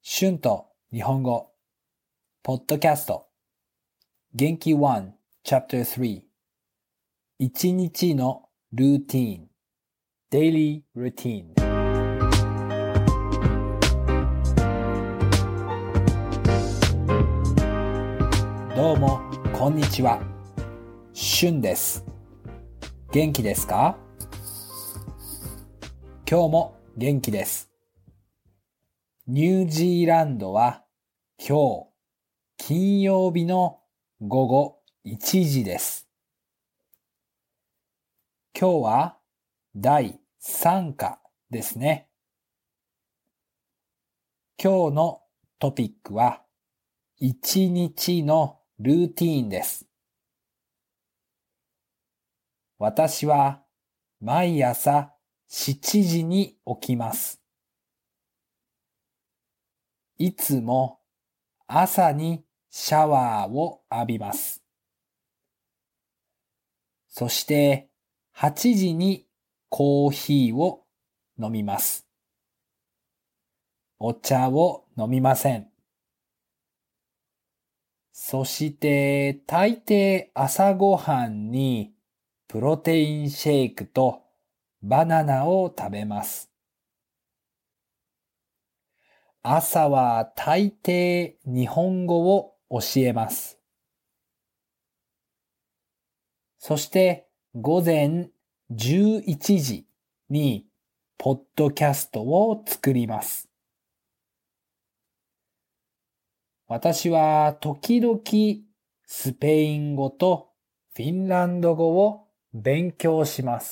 シュンと日本語ポッドキャスト元気1 Chapter 3一日のルーティーン Daily Routine どうもこんにちはシュンです元気ですか？今日も元気ですニュージーランドは今日金曜日の午後1時です。今日は第3課ですね。今日のトピックは1日のルーティーンです。私は毎朝7時に起きます。いつも朝にシャワーを浴びます。そして8時にコーヒーを飲みます。お茶を飲みません。そして大抵朝ごはんにプロテインシェイクとバナナを食べます。朝は大抵日本語を教えます。そして午前11時にポッドキャストを作ります。私は時々スペイン語とフィンランド語を勉強します。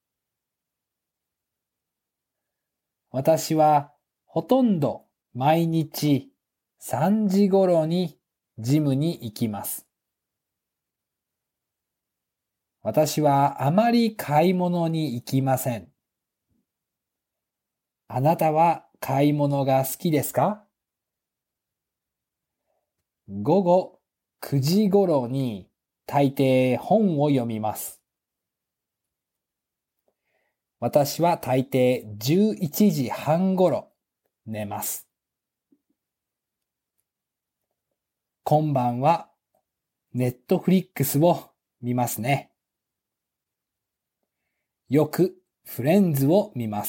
私はほとんど毎日3時頃にジムに行きます。私はあまり買い物に行きません。あなたは買い物が好きですか？午後9時頃に大抵本を読みます。私は大抵11時半頃寝ます。今晩はネットフリックスを見ますね。よくフレンズを見ます。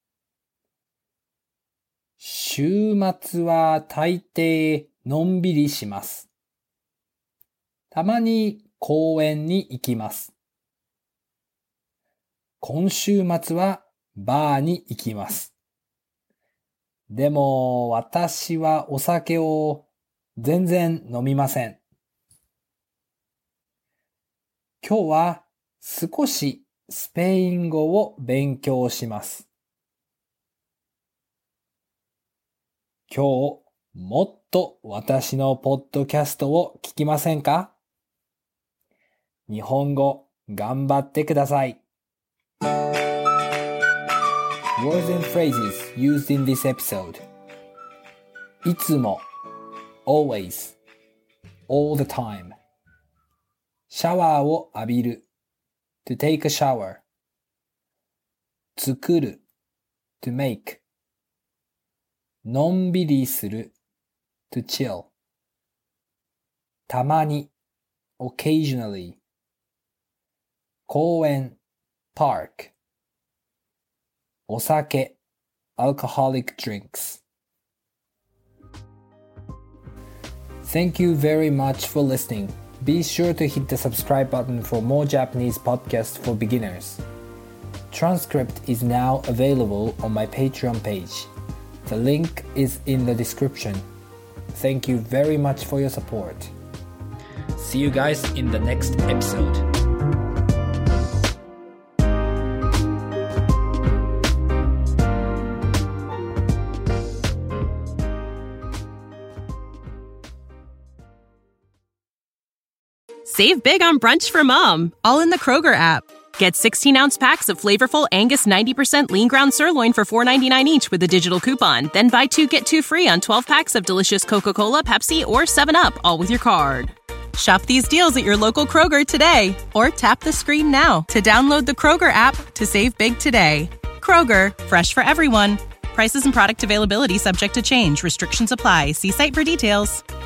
週末は大抵のんびりします。たまに公園に行きます。今週末はバーに行きます。でも私はお酒を全然飲みません。今日は少しスペイン語を勉強します。今日もっと私のポッドキャストを聞きませんか？日本語頑張ってください。Words and phrases used in this episode いつも always all the time シャワーを浴びる to take a shower 作る to make のんびりする to chill たまに occasionally 公園 parkお酒 alcoholic drinks Thank you very much for listening. Be sure to hit the subscribe button for more Japanese podcasts for beginners. Transcript is now available on my Patreon page. The link is in the description. Thank you very much for your support. See you guys in the next episode. Save big on brunch for mom, all in the Kroger app. Get 16-ounce packs of flavorful Angus 90% lean ground sirloin for $4.99 each with a digital coupon. Then buy 2, get 2 free on 12 packs of delicious Coca-Cola, Pepsi, or 7-Up, all with your card. Shop these deals at your local Kroger today, or tap the screen now to download the Kroger app to save big today. Kroger, fresh for everyone. Prices and product availability subject to change. Restrictions apply. See site for details.